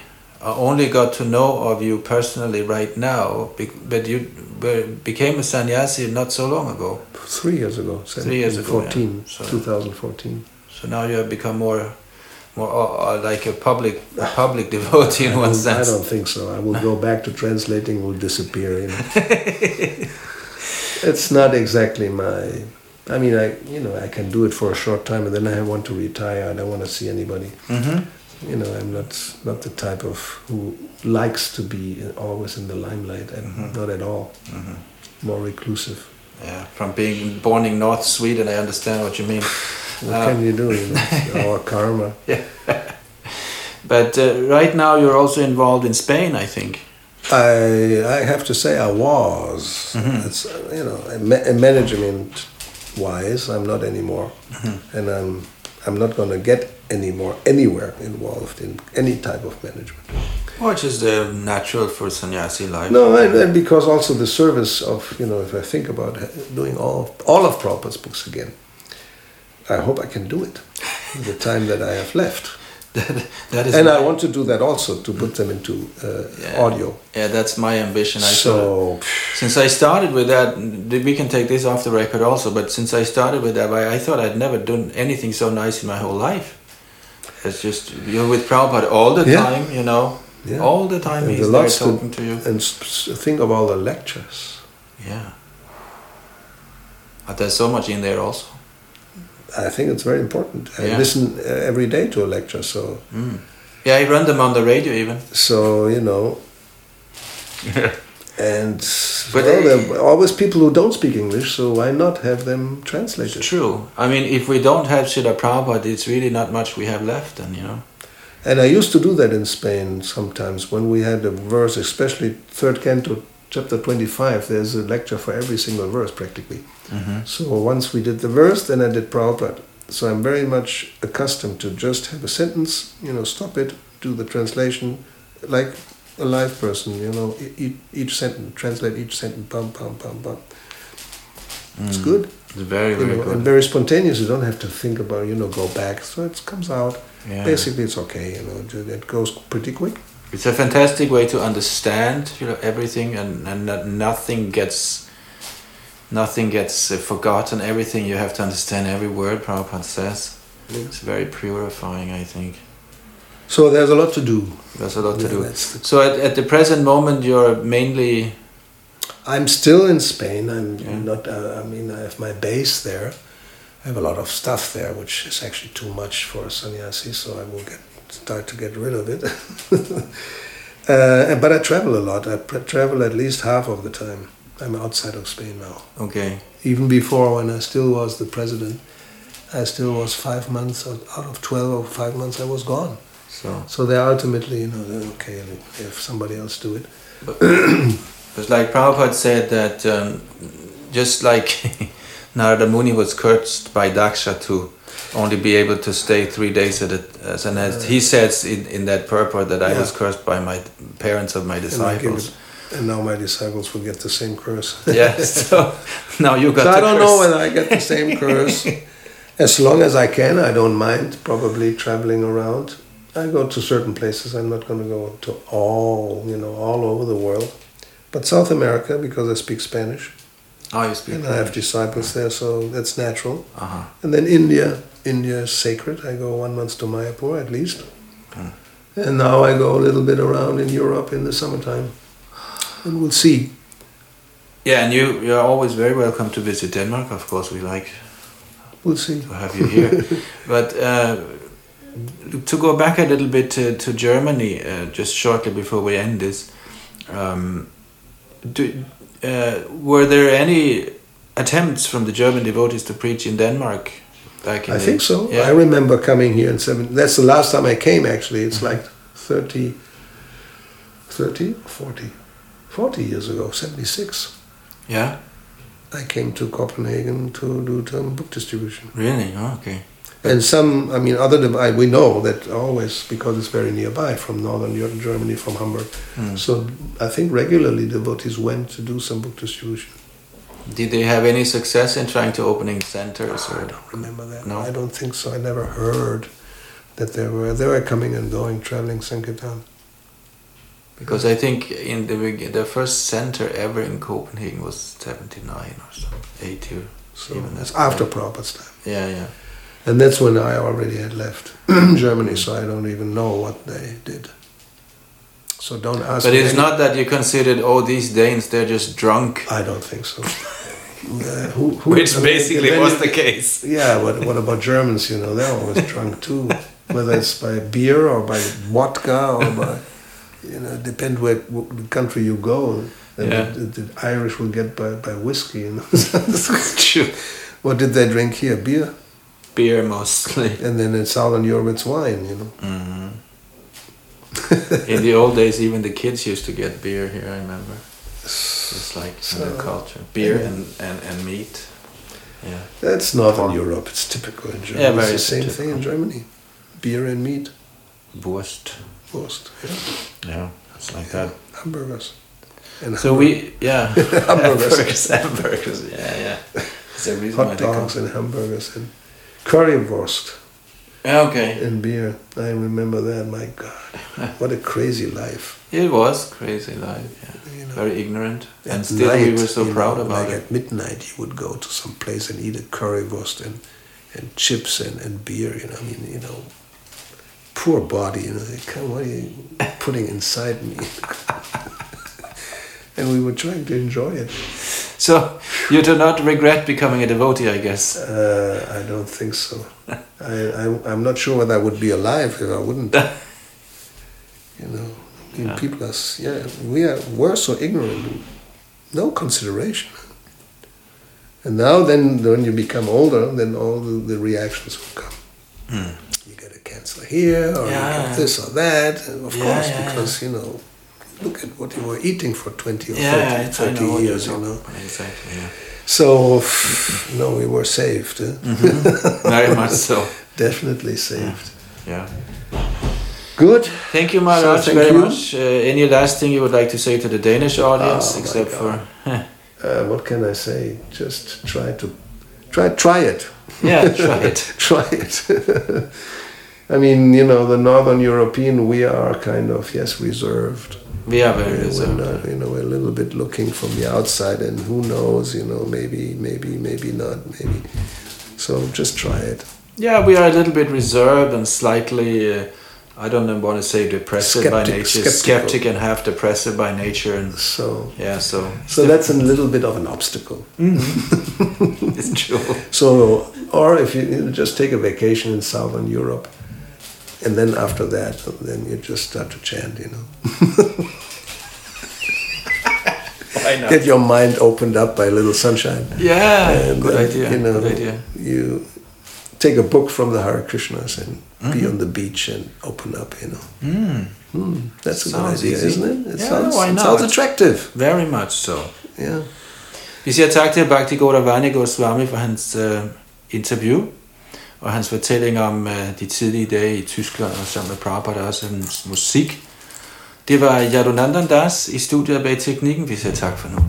A: only got to know of you personally right now, but you became a sannyasi not so long ago.
B: Three years ago.
A: Three years ago.
B: fourteen,
A: Yeah. So,
B: twenty fourteen.
A: So now you have become more, more uh, like a public, a public devotee in
B: I
A: one
B: don't-
A: sense.
B: I don't think so. I will go back to translating. Will disappear. You know? It's not exactly my. I mean, I you know I can do it for a short time, and then I want to retire. I don't want to see anybody.
A: Mm-hmm.
B: You know, I'm not not the type of who likes to be always in the limelight, and
A: Mhm.
B: not at all.
A: Mm-hmm.
B: More reclusive.
A: Yeah, from being born in North Sweden, I understand what you mean.
B: What
A: Uh,
B: can you do? You know, it's our karma.
A: But uh, right now you're also involved in Spain, I think.
B: I I have to say I was.
A: Mhm.
B: It's uh, you know, ma- management wise, I'm not anymore,
A: Mhm.
B: and I'm I'm not going to get any more anywhere involved in any type of management.
A: Which is uh, natural for sannyasi life.
B: No, and, and because also the service of you know, if I think about doing all of, all of Prabhupada's books again, I hope I can do it in the time that I have left.
A: that, that is
B: And
A: my,
B: I want to do that also, to put them into uh,
A: Yeah.
B: audio.
A: Yeah, that's my ambition. I
B: So,
A: sort of- since I started with that, we can take this off the record also. But since I started with that, I, I thought I'd never done anything so nice in my whole life. It's just you're with Prabhupada all the
B: Yeah.
A: time, you know,
B: yeah.
A: all the time
B: And
A: he's
B: the
A: there
B: lots to-
A: talking to you.
B: And s- s- think of all the lectures.
A: Yeah, but there's so much in there also.
B: I think it's very important. I
A: Yeah.
B: listen uh, every day to a lecture, so
A: Mm. Yeah, I run them on the radio even.
B: so you know. And
A: But
B: well,
A: they-
B: there are always people who don't speak English, so why not have them translated?
A: It's true. I mean, if we don't have Srila Prabhupada, it's really not much we have left, then, you know.
B: And I used to do that in Spain sometimes when we had a verse, especially third canto, chapter twenty-five. There's a lecture for every single verse practically.
A: Mm-hmm.
B: So once we did the verse, then I did Prabhupada. So I'm very much accustomed to just have a sentence, you know, stop it, do the translation, like a live person, you know, e- e- each sentence, translate each sentence, pam, pam, pam, pam. It's
A: Mm.
B: good,
A: It's very,
B: you
A: very
B: know,
A: good.
B: and very spontaneous. You don't have to think about, you know, go back. So it comes out.
A: Yeah.
B: Basically, it's okay, you know, ju- it goes pretty quick.
A: It's a fantastic way to understand, you know, everything, and and that nothing gets, nothing gets uh, forgotten. Everything you have to understand every word Prabhupada says. It's very purifying, I think.
B: So there's a lot to do.
A: There's a lot to
B: Yeah,
A: do.
B: that's the-
A: So at, at the present moment, you're mainly.
B: I'm still in Spain. I'm
A: Yeah.
B: not. Uh, I mean, I have my base there. I have a lot of stuff there, which is actually too much for a sannyasi. So I will get start to get rid of it. uh, but I travel a lot. I pr- travel at least half of the time. I'm outside of Spain now.
A: Okay.
B: Even before, when I still was the president, I still was five months out out of twelve or five months. I was gone.
A: So
B: So they ultimately, you know, they're okay if somebody else do it.
A: it's like Prabhupada said that um, just like Narada Muni was cursed by Daksha to only be able to stay three days at a as an as he says in, in that purport that I
B: Yeah.
A: was cursed by my parents of my
B: And, I give
A: disciples.
B: it- and now my disciples will get the same curse.
A: Yeah, so now you got
B: So
A: the
B: I don't
A: curse.
B: know whether I get the same curse. As long as I can, I don't mind probably traveling around. I go to certain places. I'm not going to go to all, you know, all over the world. But South America, because I speak Spanish,
A: Oh, you speak.
B: and I have disciples there, so that's natural.
A: Uh-huh.
B: And then India, India is sacred. I go one month to Mayapur at least.
A: Hmm.
B: And now I go a little bit around in Europe in the summertime. And we'll see.
A: Yeah, and you you're always very welcome to visit Denmark. Of course, we like
B: We'll see.
A: to have you here. But uh, to go back a little bit to, to Germany, uh, just shortly before we end this, um, do, uh, were there any attempts from the German devotees to preach in Denmark? Back in
B: I
A: the,
B: think so.
A: Yeah.
B: I remember coming here in seven. That's the last time I came. Actually, it's
A: Mm-hmm.
B: like thirty, thirty, forty, forty years ago. Seventy-six.
A: Yeah,
B: I came to Copenhagen to do some book distribution.
A: really? Oh, okay.
B: And some, I mean, other than I, we know that always because it's very nearby from northern Eu- Germany, from Hamburg.
A: Mm.
B: So I think regularly devotees went to do some book distribution.
A: Did they have any success in trying to opening centers? Or
B: I don't remember that.
A: No?
B: I don't think so. I never heard that they were they were coming and going, traveling Sankirtan.
A: Because I think in the beg- the first center ever in Copenhagen was seventy-nine or so, eighty or
B: So
A: even
B: it's
A: that.
B: after Prabhupada's time.
A: Yeah, yeah.
B: And that's when I already had left Germany, so I don't even know what they did. So don't ask
A: But
B: me
A: it's
B: any-
A: not that you considered, oh, these Danes, they're just drunk.
B: I don't think so. Uh, who, who,
A: Which
B: I mean,
A: basically
B: then
A: was
B: you-
A: the case.
B: Yeah, but what about Germans? You know, they're always drunk too. Whether it's by beer or by vodka or by, you know, depend where the country you go. And
A: Yeah.
B: the, the Irish will get by, by whiskey. You know.
A: True.
B: What did they drink here? Beer.
A: Beer mostly.
B: And then in Southern Europe, it's wine. You know.
A: Mhm. In the old days, even the kids used to get beer here, I remember. It's like
B: So,
A: in the culture. Beer
B: yeah.
A: and, and, and meat. Yeah.
B: That's Northern Europe. It's typical in Germany.
A: Yeah, very
B: it's the same
A: typical.
B: thing in Germany. Beer and meat.
A: Wurst.
B: Most. Yeah.
A: Yeah, it's like that.
B: Hamburgers. And
A: So we, yeah.
B: Hamburgers.
A: hamburgers. Hamburgers, yeah, yeah. That's the reason why
B: hot
A: they come.
B: dogs and hamburgers and currywurst
A: Yeah, okay.
B: and beer. I remember that. My God, what a crazy life!
A: It was crazy life, yeah.
B: You know,
A: Very ignorant.
B: at
A: And still we
B: night,
A: were so
B: you
A: proud
B: know,
A: about
B: like
A: it.
B: at midnight, you would go to some place and eat a currywurst and and chips and, and beer. You know, I mean, you know, poor body. You know, they come, what are you putting inside me? And we were trying to enjoy it.
A: So you do not regret becoming a devotee, I guess.
B: Uh, I don't think so. I, I, I'm not sure whether I would be alive if I wouldn't. You know, I mean,
A: Yeah.
B: people are, s- yeah, we are, we're so ignorant. No consideration. And now then, when you become older, then all the, the reactions will come.
A: Hmm.
B: You get a cancer here, or you
A: Yeah.
B: get this or that. And of
A: Yeah,
B: course,
A: yeah,
B: because, you know, look at what you were eating for twenty or
A: Yeah,
B: thirty,
A: I- I
B: thirty
A: know what you're
B: years, you
A: talking
B: know.
A: about. Exactly, yeah.
B: So, no, we were saved. eh?
A: Mm-hmm. Very much so.
B: Definitely saved.
A: Yeah.
B: Good.
A: Thank you, Maharaj,
B: So, thank
A: very
B: you.
A: much. Uh, any last thing you would like to say to the Danish audience,
B: Oh, my
A: except
B: God.
A: for...
B: Uh, what can I say? Just try to try try it.
A: Yeah, try it.
B: Try it. I mean, you know, the Northern European, we are kind of, yes, reserved.
A: We are very
B: We're, we're
A: reserved.
B: not, you know, we're a little bit looking from the outside, and who knows, you know, maybe, maybe, maybe not, maybe. So just try it.
A: Yeah, we are a little bit reserved and slightly, uh, I don't want to say depressive by
B: Skeptic-
A: nature,
B: skeptical.
A: skeptic and half depressive by nature. And
B: So,
A: yeah, so
B: so that's a little bit of an obstacle.
A: it's true.
B: So, or if you, you just take a vacation in Southern Europe, and then after that, then you just start to chant, you know.
A: Why not?
B: Get your mind opened up by a little sunshine.
A: Yeah,
B: And
A: good
B: then,
A: idea.
B: You know,
A: good idea.
B: you take a book from the Hare Krishnas and be
A: Mm-hmm.
B: on the beach and open up, you know.
A: Mm,
B: Hmm, that's a good
A: Sounds
B: idea,
A: easy.
B: isn't it? It
A: Yeah,
B: sounds,
A: why
B: it
A: not?
B: sounds attractive.
A: very much so.
B: Yeah.
A: Vi siger tak til Bhakti Gauravani Goswami for hans uh, interview og hans fortælling om uh, de tidlige dage i Tyskland og sammen med Prabhupada og også hans musik. Det var Yadunandan Das i studiet bag teknikken. Vi siger tak for nu.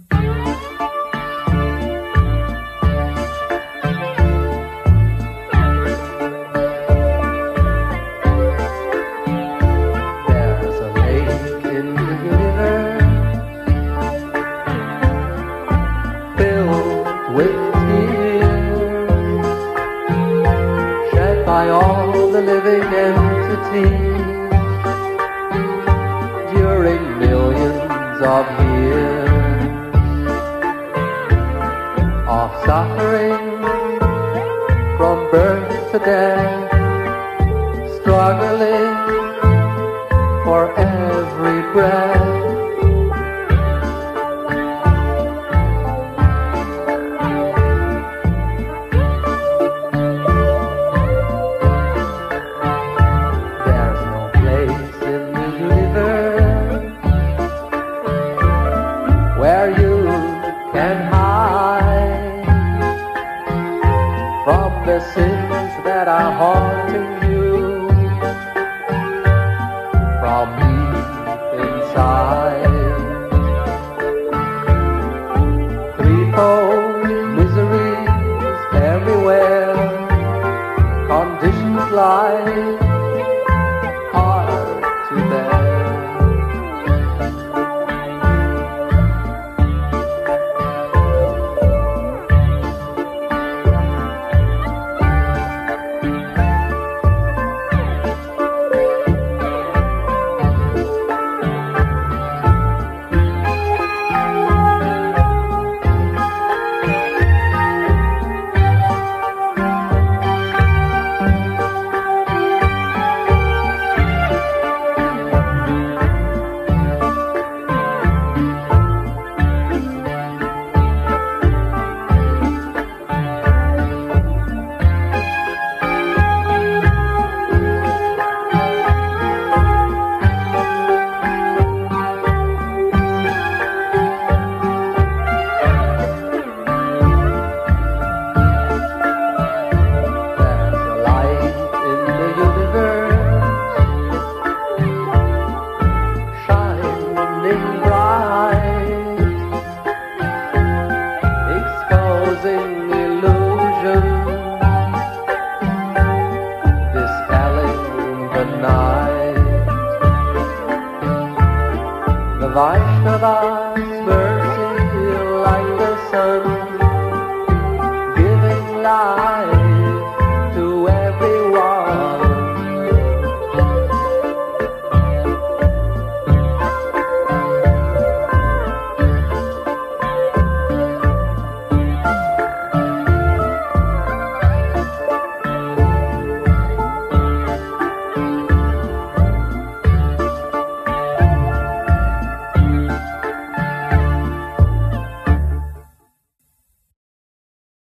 C: There's a lake in the universe filled with tears shed by all the living entities during millions of years of suffering from birth to death, struggling for every breath. There's no place in the universe where you can hide from the sins that are haunting